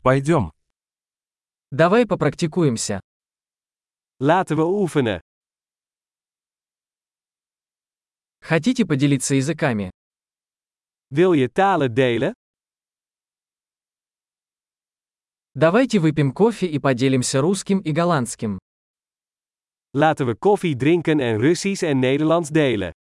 Пойдем. Давай попрактикуемся. Laten we oefenen. Хотите поделиться языками? Wil je talen delen? Давайте выпьем кофе и поделимся русским и голландским. Laten we koffie drinken en Russisch en Nederlands delen.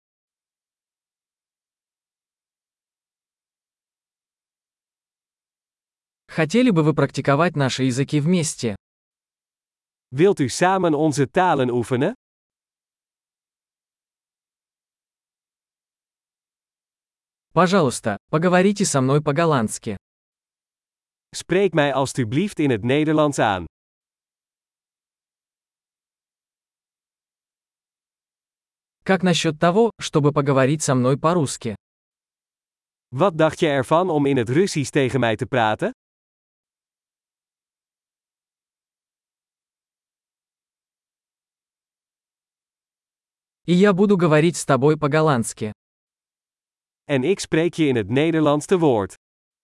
Хотели бы вы практиковать наши языки вместе? Wilt u samen onze talen oefenen? Пожалуйста, поговорите со мной по-голландски. Spreek mij alstublieft in het Nederlands aan. Как насчет того, чтобы поговорить со мной по-русски? Wat dacht je ervan om in het Russisch tegen mij te praten? И я буду говорить с тобой по-голландски. En ik spreek je in het Nederlands te woord.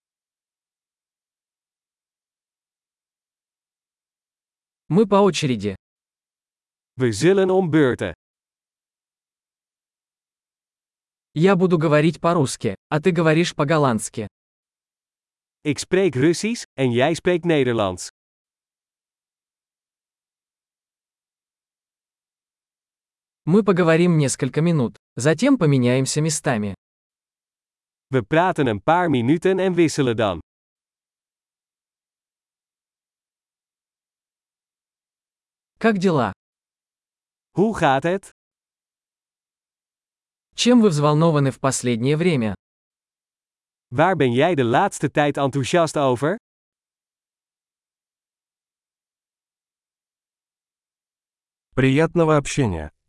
Мы по очереди. We zullen om beurten. Я буду говорить по-русски, а ты говоришь по-голландски. Ik spreek Russisch, en jij spreekt Nederlands. Мы поговорим несколько минут, затем поменяемся местами. We praten een paar minuten en wisselen dan. Как дела? Hoe gaat het? Чем вы взволнованы в последнее время? Waar ben jij de laatste tijd enthousiast over? Приятного общения.